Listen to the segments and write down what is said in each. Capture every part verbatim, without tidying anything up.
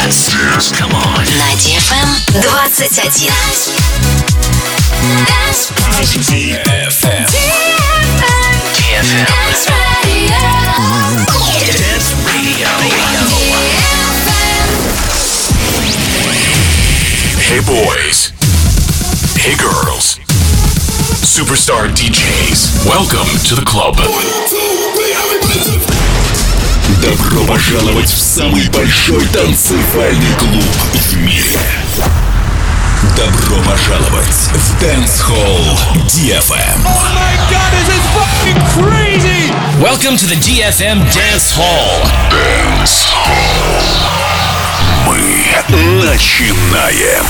Dance. Come on. На ди эф эм двадцать один. ди эф эм. ди эф эм. Dance Radio. Hey boys. Hey girls. Superstar ди джейс. Welcome to the club. Добро пожаловать в самый большой танцевальный клуб в мире. Добро пожаловать в Dance Hall ди эф эм. Oh my god, this is fucking crazy! Welcome to the ди эф эм Dance Hall. Dance Hall. Мы начинаем.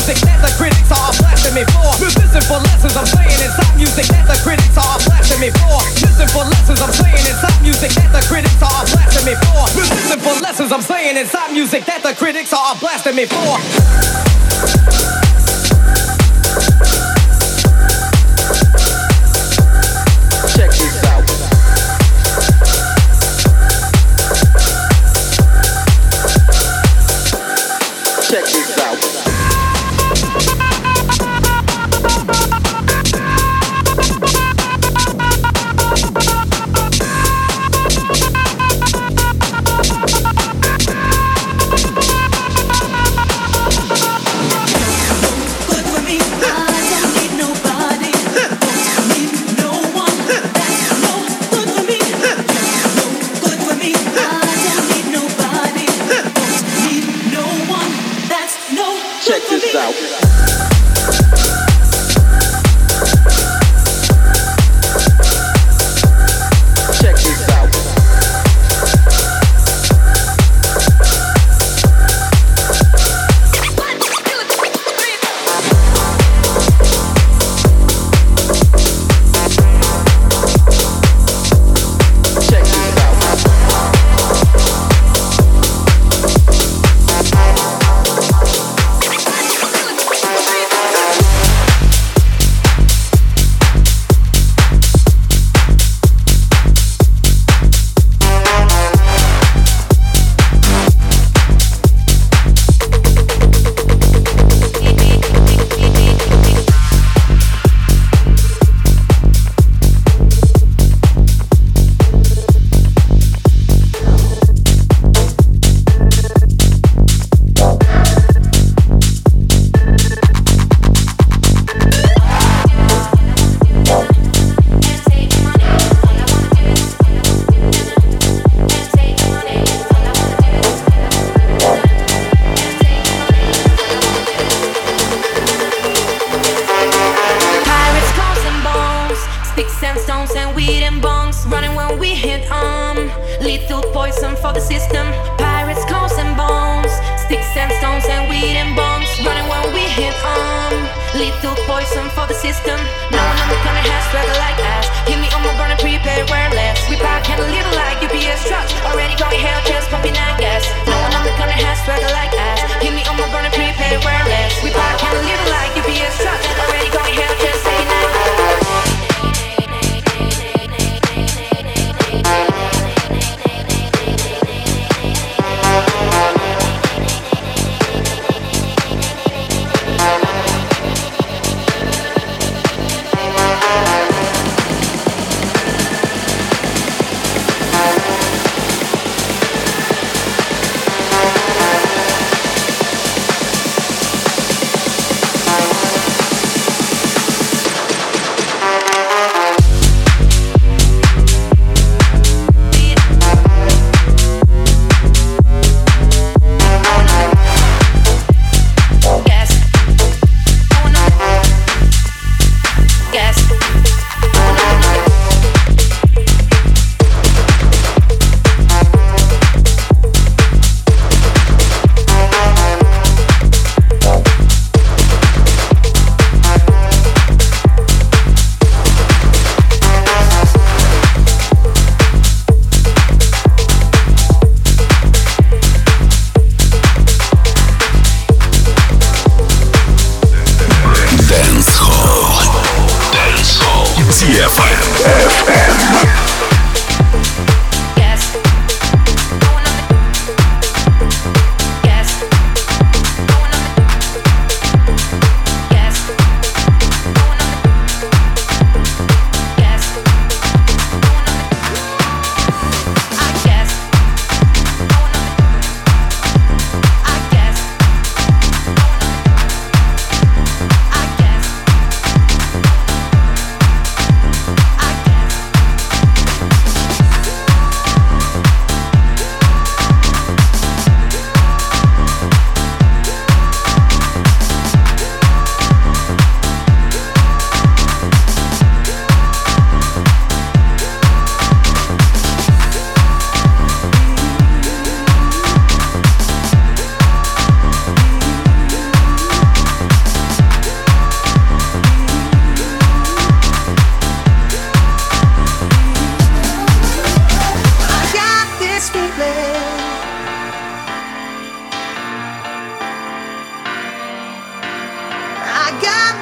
music that the critics are blasting me for. Listen for lessons I'm saying inside music that the critics are blasting me for. Listen for lessons I'm saying inside music that the critics are blasting me for. Listen for lessons I'm saying inside music that the critics are blasting me for. Check this out. Check this out. Check this out.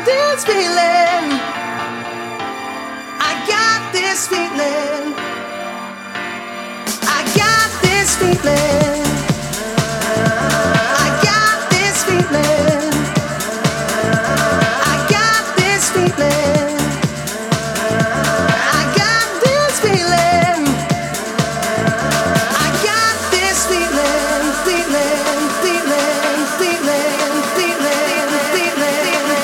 this feeling. I got this feeling. I got this feeling. I got this feeling. I got this feeling. I got this feeling. I got this feeling, feeling, feeling, feeling, feeling, feeling,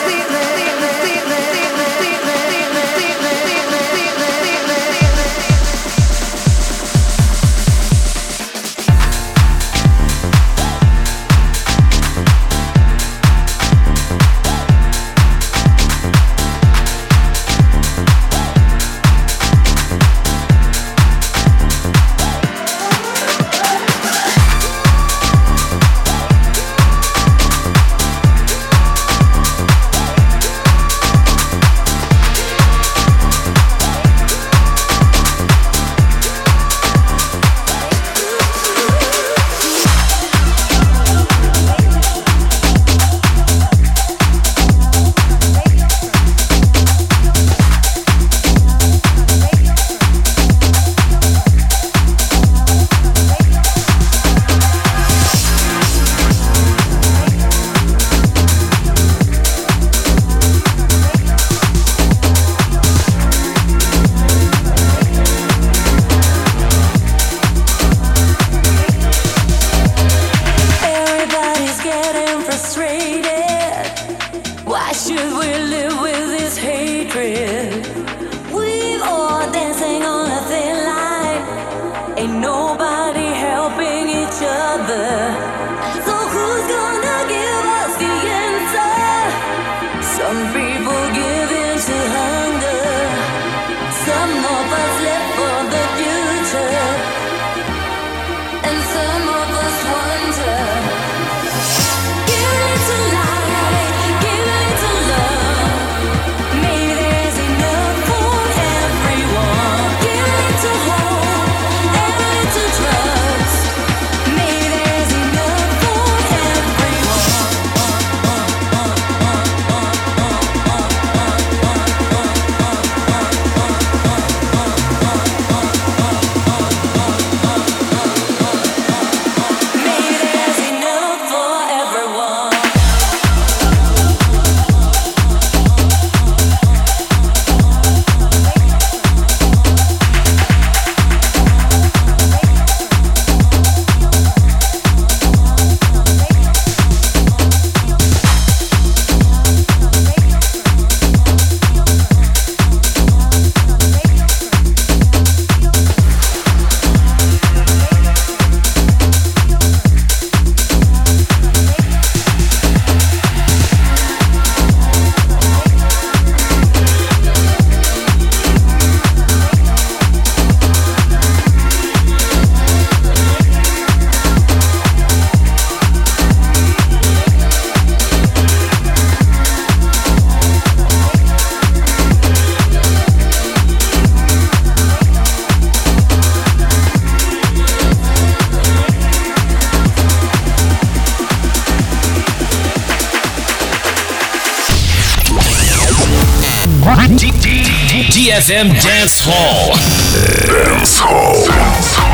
D F M Dance Hall. Dance Hall. Dance Hall.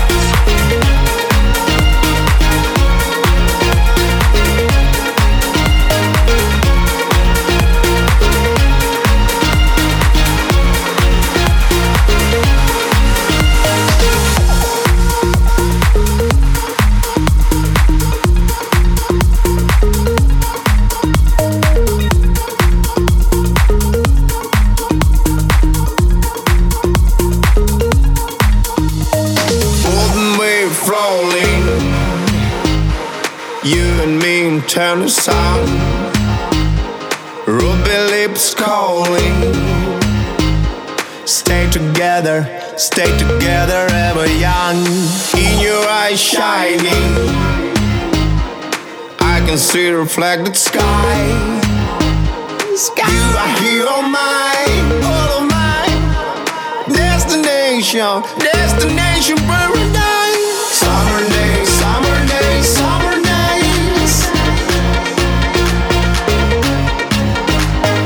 Turn the sound, ruby lips calling. Stay together, stay together, ever young. In your eyes shining, I can see reflected sky. Sky. You are here, all mine, all of mine. Destination, destination paradise. Summer days, summer days, summer days.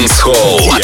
Dance Hall.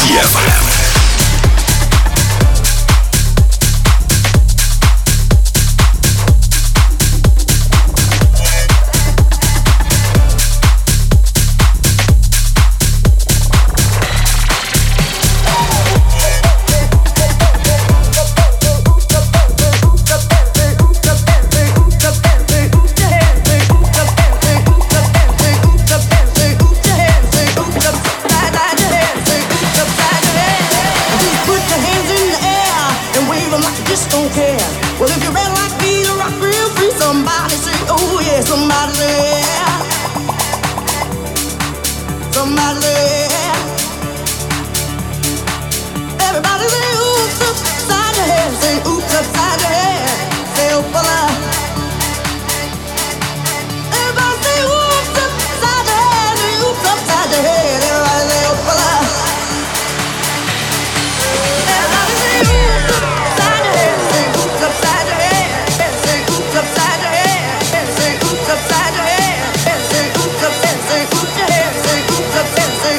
эф эм. Upside your head, say oops upside your head, say oops upside your head, say oops upside your head.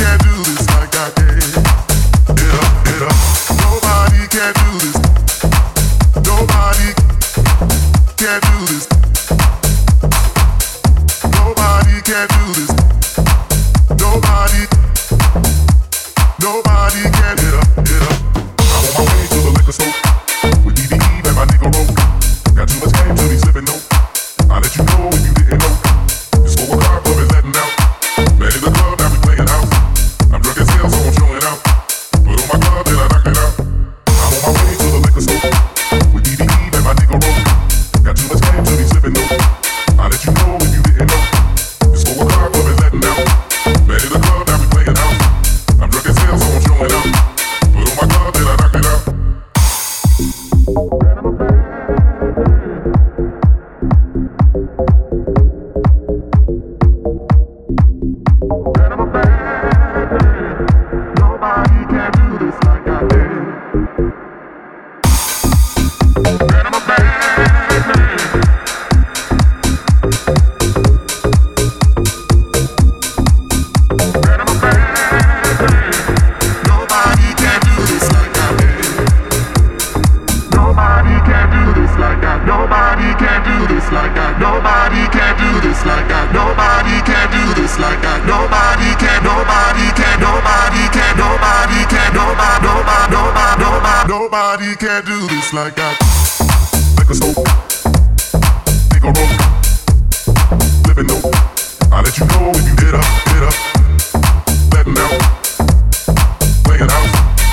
Nobody can do this like I. Like a smoke, take a roll, living no. I'll let you know if you get up, get up, letting out, playing house,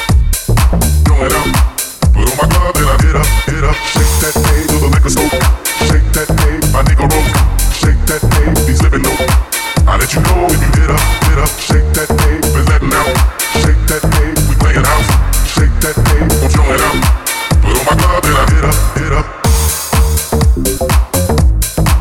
going out. Put on my glove and I get up, get up, shake that hay to the liquor smoke, shake that hay, my nigga roll, shake that hay, he's living no. I'll let you know if you get up, get up, shake that hay, been letting out, shake that hay, we playing house, shake that hay, I'm showing out. Put on my glove and I get up, get up.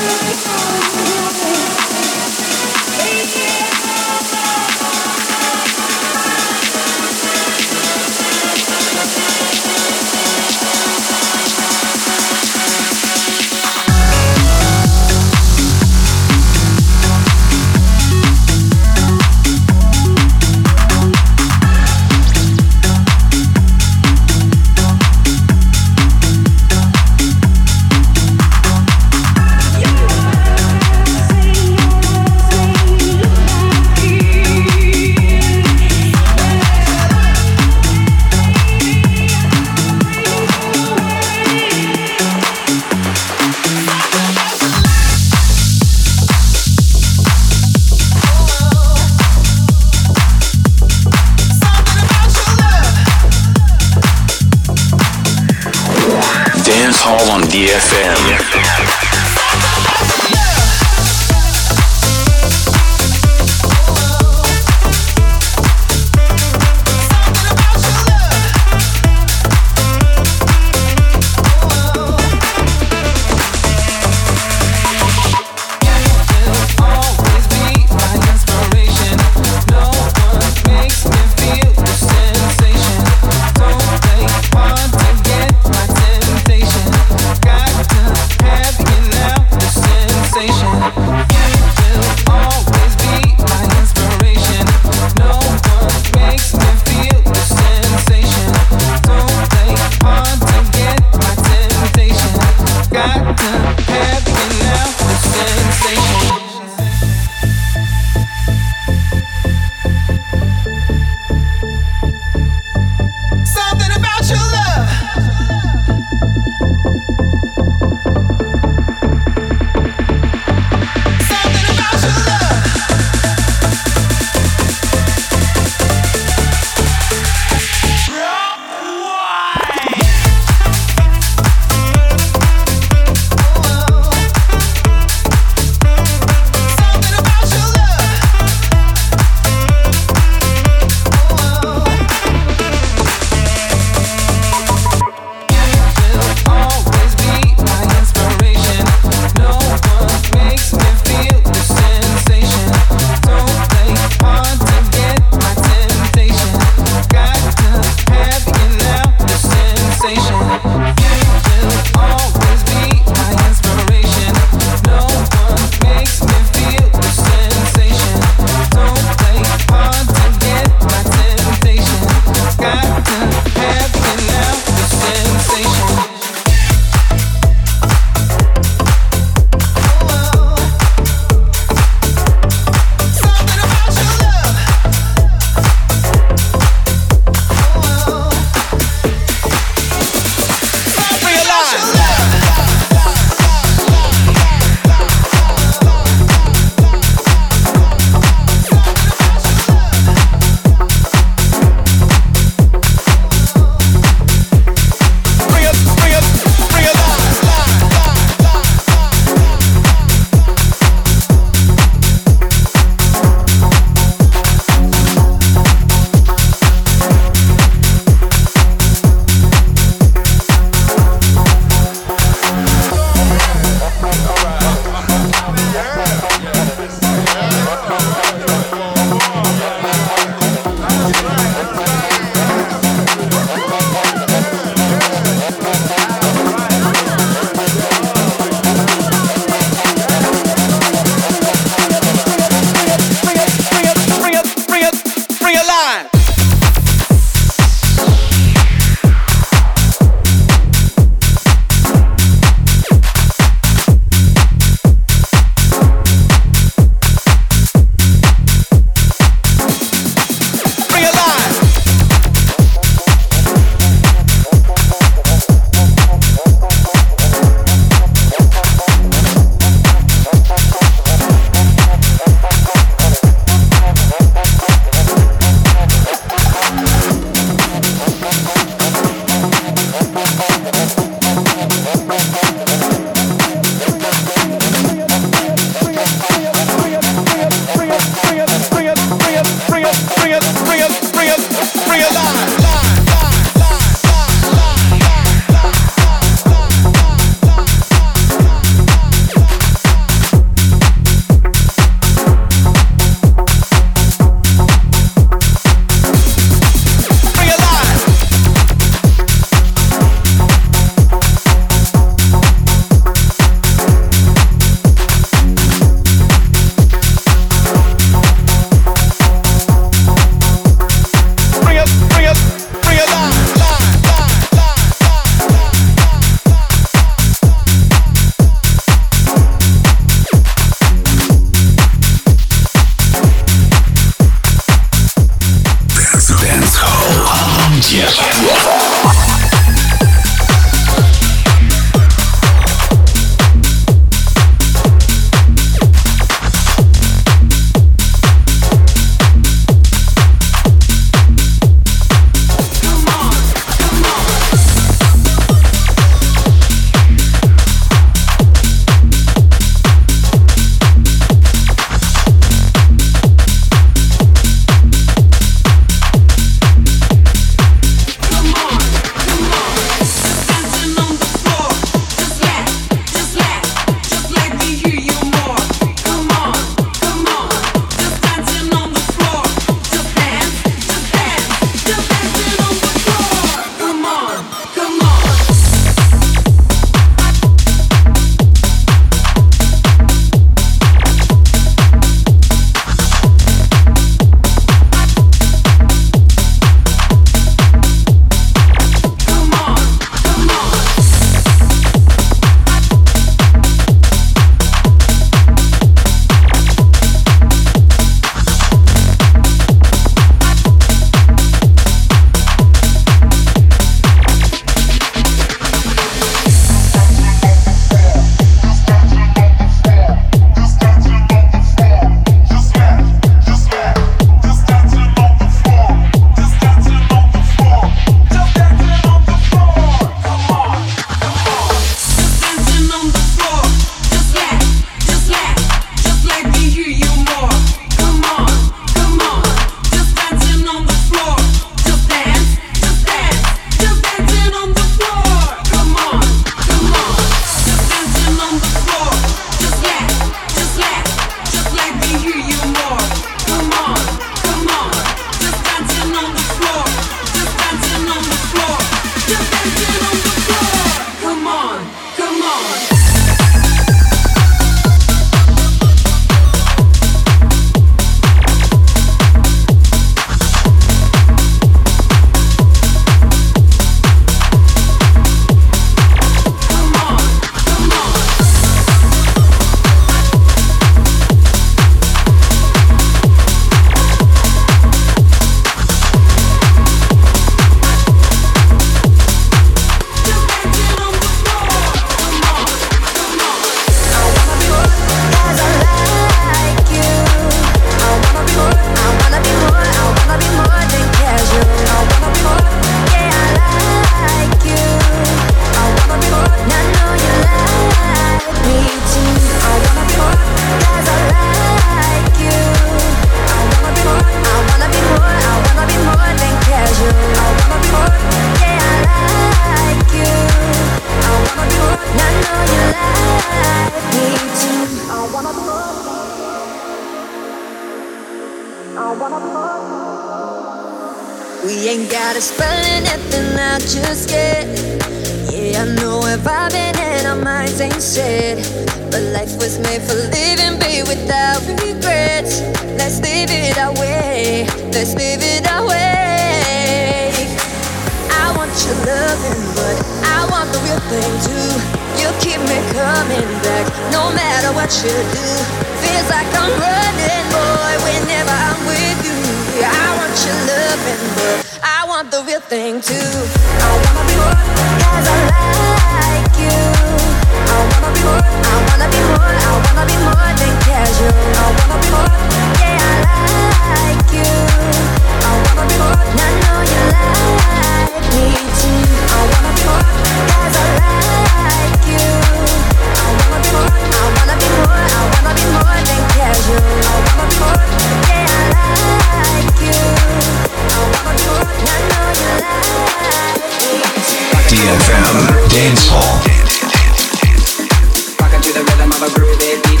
We ain't gotta spell anything out just yet. Yeah, I know we're vibing and our minds ain't set. But life was made for living, be without regrets. Let's live it our way, let's live it our way. I want your loving, but I want the real thing too. You keep me coming back, no matter what you do. Feels like I'm running, boy, whenever I'm with you. I want your loving, but I want the real thing too. I wanna be more, cause I like you. I wanna be more, I wanna be more, I wanna be more than casual. I wanna be more, yeah, I like you. I wanna be more, and I know you like me too. I wanna be more, cause I like you. I wanna be more, I wanna be more, I wanna be more than casual. I wanna be more, yeah, I like you. I wanna be more, and I know you like me too. D F M Dance Hall. Rockin' to the rhythm of a groovy beat.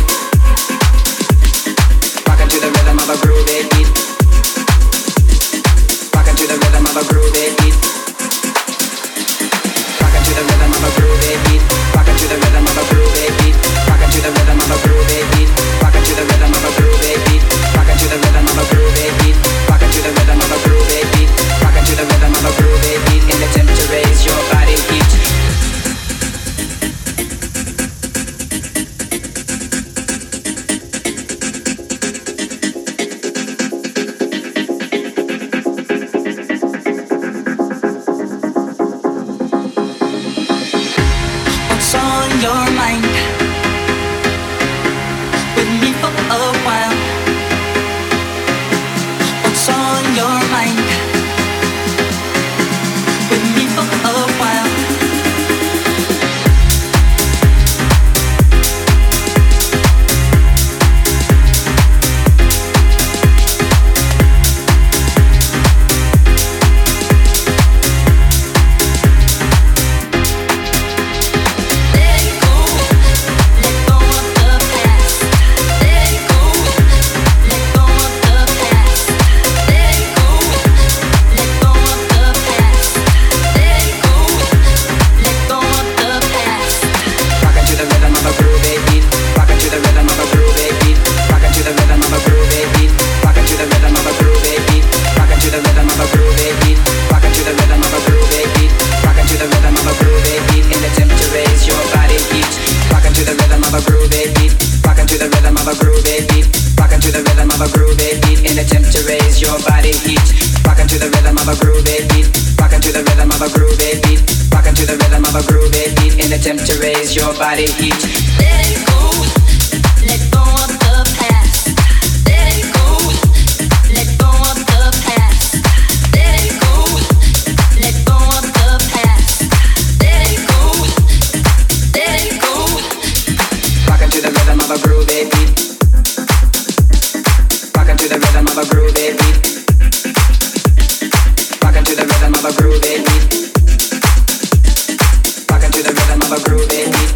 Rockin' to the rhythm of a groovy beat. Rockin' to the rhythm of a groovy beat. Rockin' to the rhythm of a groovy beat. Rockin' to the rhythm of a groovy beat. Rockin' to the rhythm of a groovy beat. Rockin' to the rhythm of a groovy beat. Rockin' to the rhythm of a groovy beat. Rockin' to the rhythm of a groovy beat. Rockin' to the rhythm of a groovy beat. In the attempt to raise your body heat. Your mind with me for a while. What's on your mind with me for a while? Body heat. Let it go, let go of the past. Let it go, let go of the past. Let it go, let go of the past. Let it go, let it go. Rockin' to the rhythm of a groovy beat. Rockin' to the rhythm of a groovy beat. Rockin' to the rhythm of a groovy beat. Rockin' to the rhythm of a groovy beat.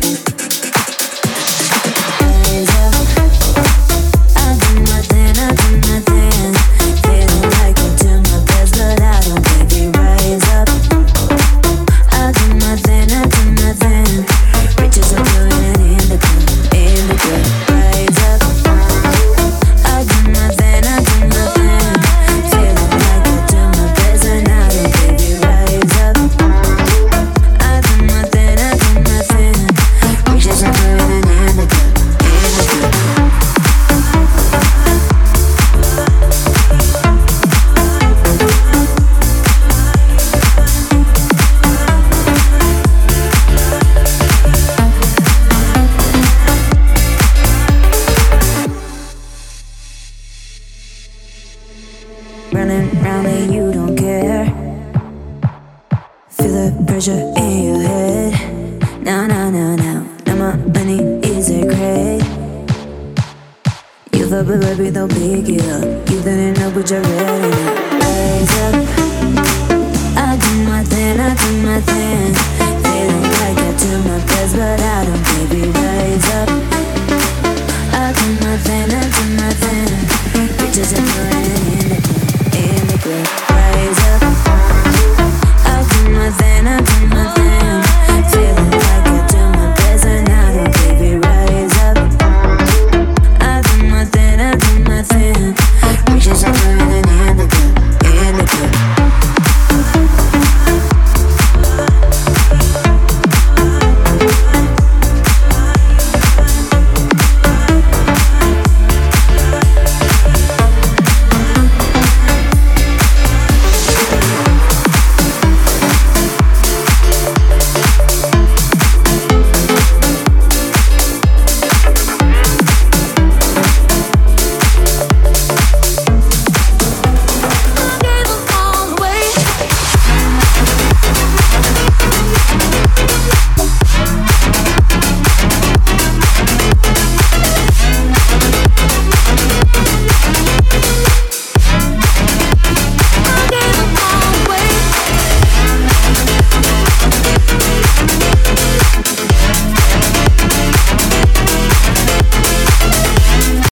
Baby, don't pick it up. You didn't know, but you're ready now. Raise up. I do my thing, I do my thing. Feeling like I do my best, but I don't, baby, raise up.